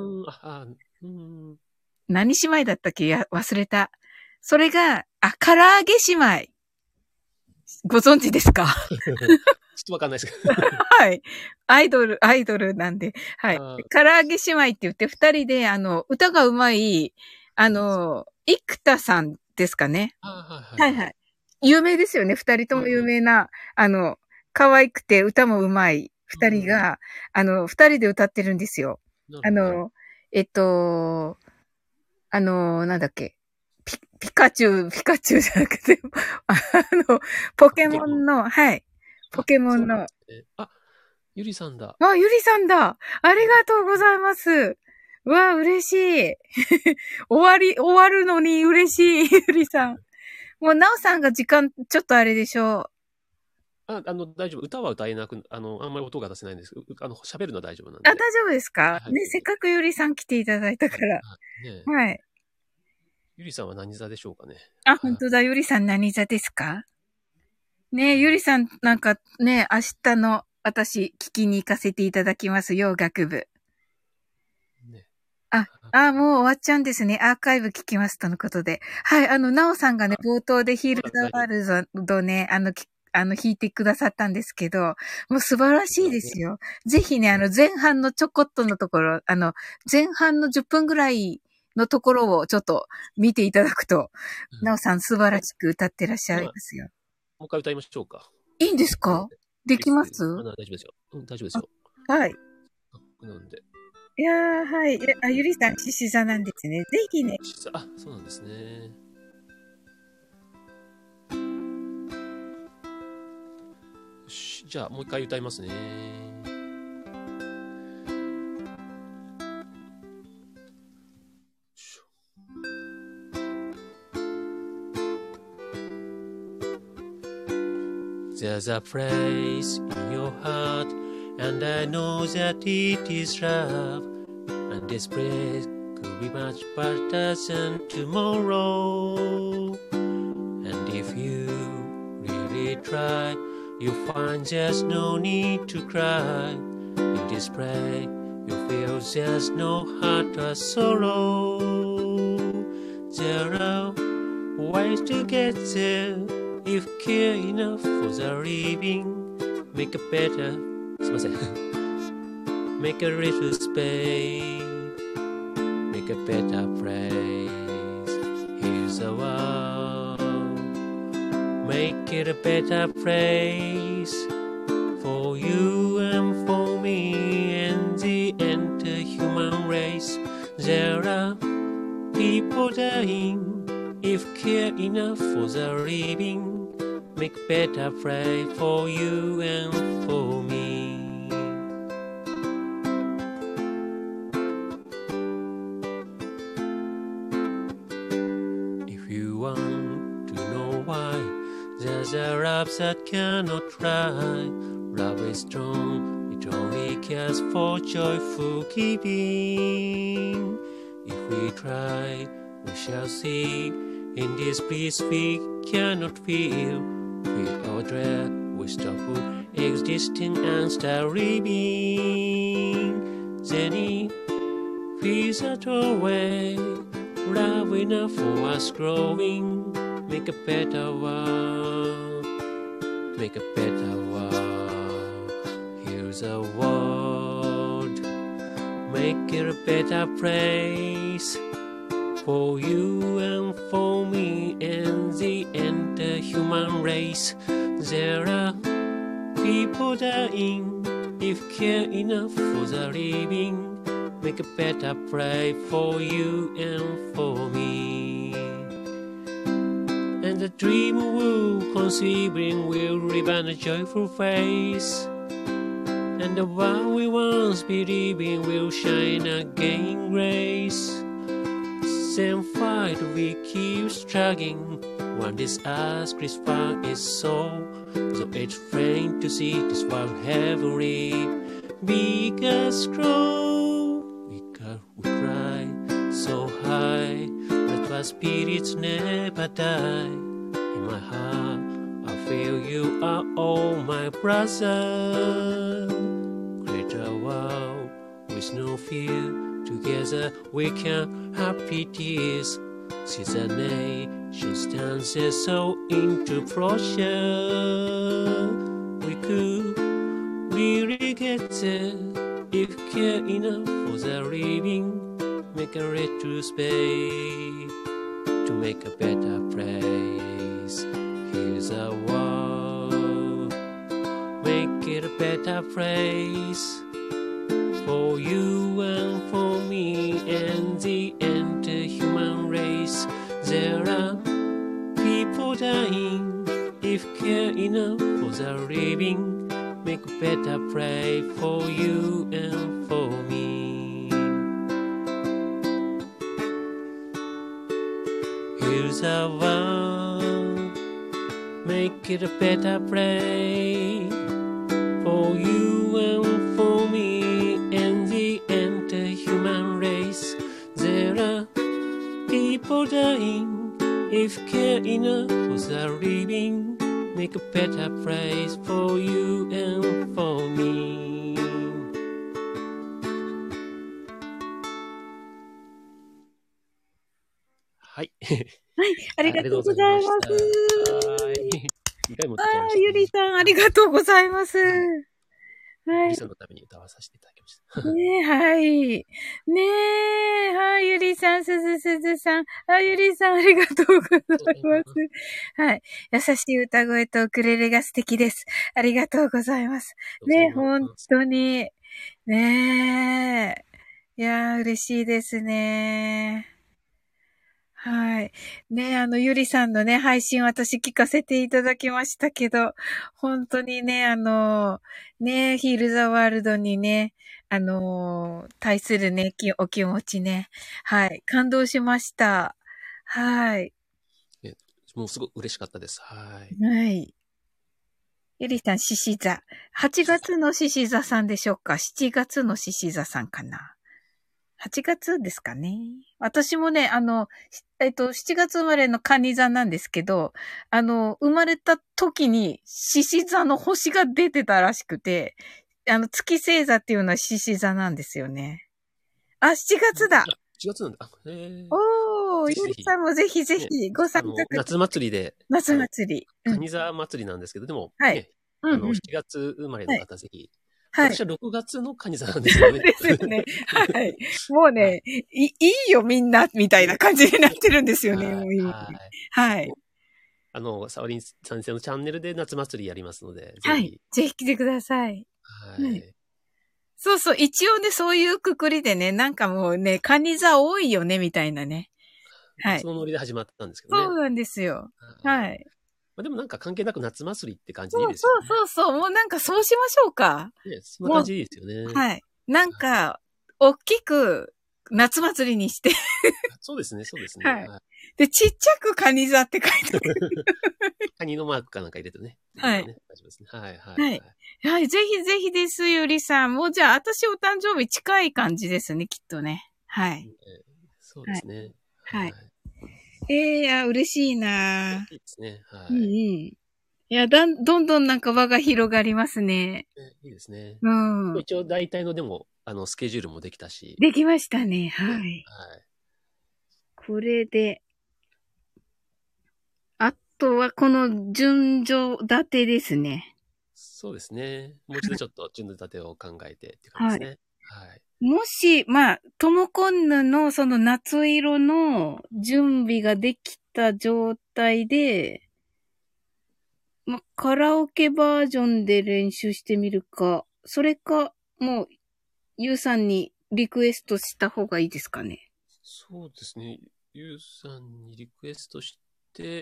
何姉妹だったっけ？忘れた。それが、唐揚げ姉妹。ご存知ですか？ ちょっとわかんないですけど。 はい。アイドルなんで。はい。唐揚げ姉妹って言って、二人で、歌がうまい、生田さんですかね。はいはい。有名ですよね。二人とも有名な、可愛くて歌もうまい二人が、二人で歌ってるんですよ。なんだっけ。ピカチュウじゃなくて、ポケモンの、はい。ポケモンの。 ゆりさんだ。 ゆりさんだ。ありがとうございます。 うわ、嬉しい。終わるのに嬉しい、ゆりさん。もう、なおさんが時間、ちょっとあれでしょ大丈夫。歌は歌えなく、あんまり音が出せないんですけど、喋るのは大丈夫なんう。あ、 で。 大丈夫ですかはい。 ね、せっかくゆりさん来ていただいたはい。 から。 はい。ねえ。 はい。 ゆりさんは何座でしょうかね。 あ、 はい。 本当だ、ゆりさん何座ですかね、ゆりさんなんかね、明日の私聞きに行かせていただきますよ、学部。 ね。 もう終わっちゃうんですね。アーカイブ聞きますとのことで。はい、なおさんがね、冒頭でヒールザワ大丈夫。 ールドね、弾いてくださったんですけど、もう素晴らしいですよ。ぜひね、前半のちょこっとのところ、前半の10分ぐらいのところをちょっと見ていただくと、なおさん素晴らしく歌ってらっしゃいますよ。 もう一回歌いましょうか。 いいんですかできます大丈夫ですよ。大丈夫ですよ。 はい。 なんで。 いやー、はい。ゆりさん、獅子座なんですね。ぜひね。 そうなんですね。よし、じゃあもう一回歌いますね。There's a place in your heart, and I know that it is love, and this place could be much better than tomorrow. And if you really try, you'll find there's no need to cry. In this place, you feel there's no heart or sorrow. There are ways to get there if care enough for the living. Make a better, すいません。Make a little space. Make a better place. Here's the world. Make it a better place for you and for me and the entire human race. There are people dying if care enough for the living. Make better place for you and for me. If you want to know why, there's a love that cannot try. Love is strong, it only cares for joyful giving. If we try, we shall see. In this bliss we cannot feel. Fear or dread, we stop existing and start living. Then it feels that way. Love enough for us growing. Make a better world. Make a better world. Here's a world. Make it a better place for you and for me and the entire human race. There are people dying if care enough for the living. Make a better place for you and for me. And the dream we're conceiving will live on a joyful face. And the one we once believed in will shine again in grace. Same fight we keep struggling. One this earth crucified is so it's plain to see this world heavenly. Big and strong, we cry so high that our spirits never die. In my heart, I feel you are all my brothers. Create a world with no fear. Together we can happy tears. See the nation stands so into proportion. We could really get there if care enough for the living. Make a little space to make a better place. Here's a world. Make it a better place for you and for me and the entire human race. There are people dying if care enough for the living. Make a better place for you and for me. the world. Make it a better place for you and for me and the entire human race. There are people dying if care enough was a living. Make a better place for you and for me. はい。 はい、ありがとうございます。 はい。2回も歌っちゃいました、ね。 ゆりさん、ありがとうございます。はい。 ゆりさんのために歌わさせていただきました。 ねえ、はい。ねえ、はい、ゆりさん、すずさん。ゆりさん、ありがとうございます。はい。優しい歌声とウクレレが素敵です。ありがとうございます。ねえ、本当に。ねえ。いやー、嬉しいですね。はい。ね、ゆりさんのね、配信私聞かせていただきましたけど、本当にね、ね、ヒールザワールドにね、対するね、お気持ちね、はい、感動しました。はい。 もうすごく嬉しかったです。はい。 はい。ゆりさん、獅子座。8月の獅子座さんでしょうか？ 7 月の獅子座さんかな？8月ですかね。私もね、7月生まれの蟹座なんですけど、生まれた時に獅子座の星が出てたらしくて、月星座っていうのは獅子座なんですよね。あ、7月だ。 7月なんだ。 おー、ゆりさんもぜひぜひご参加ください。 夏祭りで。 夏祭り。 蟹座祭りなんですけど、でも、 はい。 ね、7月生まれの方、ぜひ。 はい。 私は6月の蟹座なんですよね。 ですよね。はい。もうね、いいよみんな、みたいな感じになってるんですよね、もう今。はい。 サオリン先生のチャンネルで夏祭りやりますので、 はい。ぜひ来てください。 はい。 そうそう、一応ね、そういうくくりでね、なんかもうね、蟹座多いよね、みたいなね。はい。 そのノリで始まったんですけどね。 そうなんですよ。はい。 でもなんか関係なく夏祭りって感じでいいですよね。 そう。もうなんかそうしましょうか。 ね、そんな感じでいいですよね。 はい。なんか、大きく夏祭りにして。 そうですね。 はい。で、ちっちゃく蟹座って書いてある。 カニのマークかなんか入れてね。 はい。 大丈夫ですね。はい。 はい。ぜひぜひです、ゆりさん。もうじゃあ、私お誕生日近い感じですね、きっとね。はい。 そうですね。 はい。いや、嬉しいないいですね。はい。 いや、どんどんなんか輪が広がりますね。 いいですね。 うん。 一応大体のでも、スケジュールもできたし。 できましたね。はい。はい。これで、あとはこの順序立てですね。 そうですね。もう一度ちょっと順序立てを考えてって感じですね。はい。 もし、トモコンヌのその夏色の準備ができた状態で、カラオケバージョンで練習してみるか、それか、もう、ゆうさんにリクエストした方がいいですかね。 そうですね。ゆうさんにリクエストして、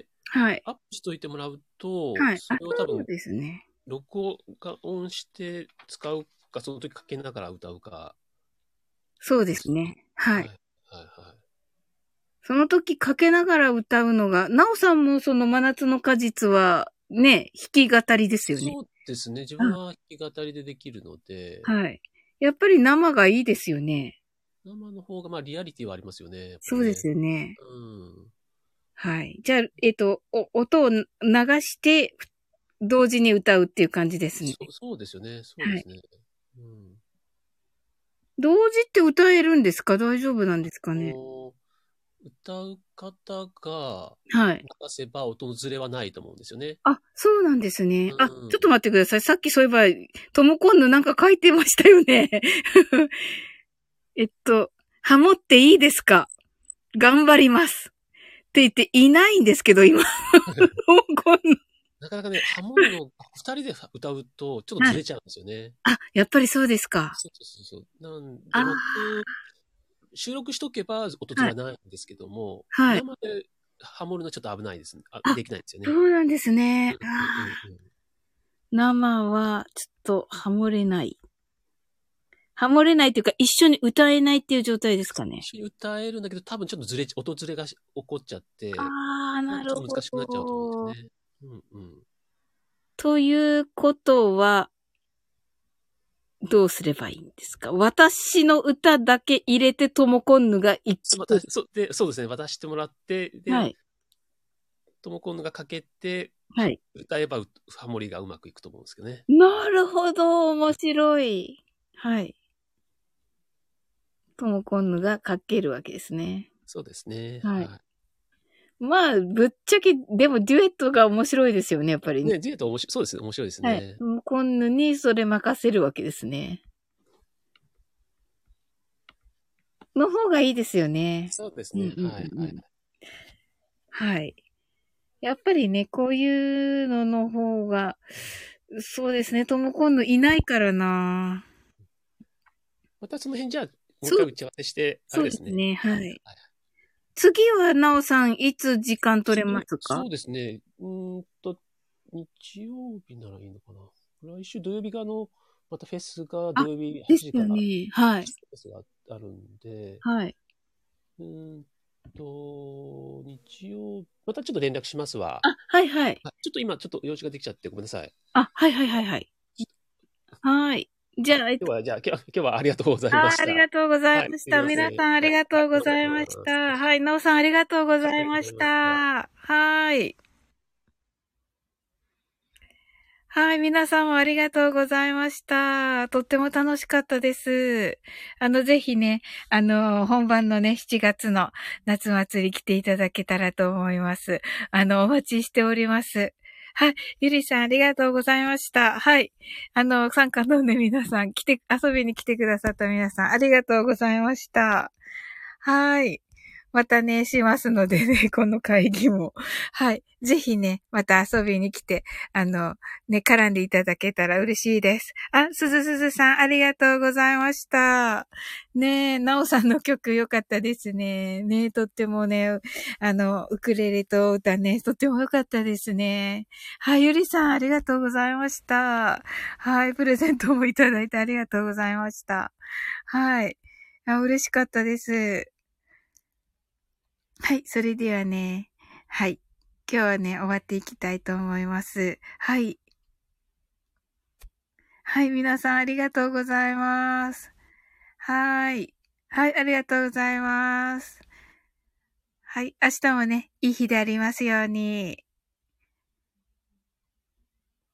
はい。 アップしといてもらうと、 はい。 それを多分、 そうですね。 録音して使うか、その時かけながら歌うか。 そうですね。はい。 はい。 その時かけながら歌うのが、なおさんもその真夏の果実は、ね、弾き語りですよね。 そうですね。自分は弾き語りでできるので。 はい。やっぱり生がいいですよね。 生の方が、リアリティはありますよね。 そうですよね。 うん。 はい。じゃあ、音を流して、同時に歌うっていう感じですね。 そうですよね。そうですね。はい、うん。 同時って歌えるんですか？大丈夫なんですかね？ 歌う方が、 はい。 流せば音のずれはないと思うんですよね。 あ、そうなんですね。ちょっと待ってください。さっきそういえば、トモコンヌなんか書いてましたよね。ハモっていいですか？頑張ります。って言っていないんですけど、今。 なかなかね、ハモるの、二人で歌うと、ちょっとずれちゃうんですよね。 やっぱりそうですか。 そう。なんで、収録しとけば音ずれはないんですけども、生でハモるのはちょっと危ないですね。できないんですよね。 そうなんですね。生はちょっとハモれない。 ハモれないというか、一緒に歌えないっていう状態ですかね。 一緒に歌えるんだけど、多分ちょっと音ずれが起こっちゃって、 ああ、 なんかちなるほょっと難しくなっちゃうと思うんど。 ですね。うんうん。 ということは、どうすればいいんですか？私の歌だけ入れてともこんぬが一曲。 そうですね。渡してもらって、で、 はい。 ともこんぬがかけて、 はい。 歌えばハモリがうまくいくと思うんですけどね。 なるほど、面白い。はい。ともこんぬがかけるわけですね。 そうですね。 はい。 はまあ、ぶっちゃけ、でもデュエットが面白いですよね、やっぱりい。 ね。 ね、デュエットそうですね。面白いですはい。 ね。 ともこんぬにそれ任せるわけですね。の方がいいですよね。 そうですね。 うんうんはい、はい。 うんうん。はい。やっぱりね、こういうのの方が、そうですね、ともこんぬいないからな。 またその辺じゃあ、もう一そう、 回打ち合わせして、あそれですね。 うですね、 はい。 はい。 はい、 次は、なおさん、いつ時間取れますか？ そうですね。日曜日ならいいのかな。来週土曜日がまたフェスがあ、 土曜日8 です時からフよね。はい。 ェスがあるんで、 はい。 日曜、またちょっと連絡しますわ。 あ、はいはい。 ちょっと今、ちょっと用事ができちゃってごめんなさい。 あ、はいはいはいはい。はい。じゃあ、 今日はありがとうございまありした。 がとうございはい、 ました。 すいません。 皆さんありはい、 がとうごどうもありざいましがとうございた。 ます。 はい。なおさんありがとうござはい、ありがいましとうございました。 た。はい。はい。皆さんもありがとうございました。とっても楽しかったです。ぜひね、本番のね、7月の夏祭り来ていただけたらと思います。お待ちしております。はい。ゆりさん、ありがとうございました。はい。参加のね、皆さん、遊びに来てくださった皆さん、ありがとうございました。はい。またね、しますのでね、この会議も。はい。ぜひね、また遊びに来て、絡んでいただけたら嬉しいです。あ、すずさん、ありがとうございました。ねえ、なおさんの曲良かったですね。ねえ、とってもね、ウクレレと歌ね、とっても良かったですね。はい、ゆりさん、ありがとうございました。はい、プレゼントもいただいてありがとうございました。はい。嬉しかったです。はい、それではね、はい。今日はね、終わっていきたいと思います。はい。はい、皆さんありがとうございます。はい。はい、ありがとうございます。はい、明日もね、いい日でありますように。